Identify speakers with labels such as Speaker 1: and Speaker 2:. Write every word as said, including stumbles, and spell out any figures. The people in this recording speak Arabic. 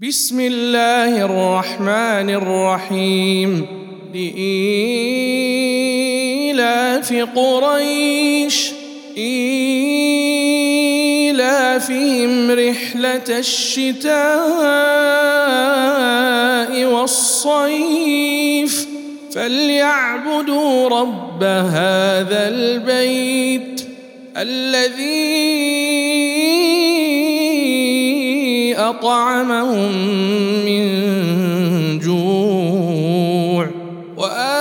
Speaker 1: بسم الله الرحمن الرحيم لإيلاف قريش إيلافهم رحلة الشتاء والصيف فليعبدوا رب هذا البيت الذي أطعمهم من جوع وآمنهم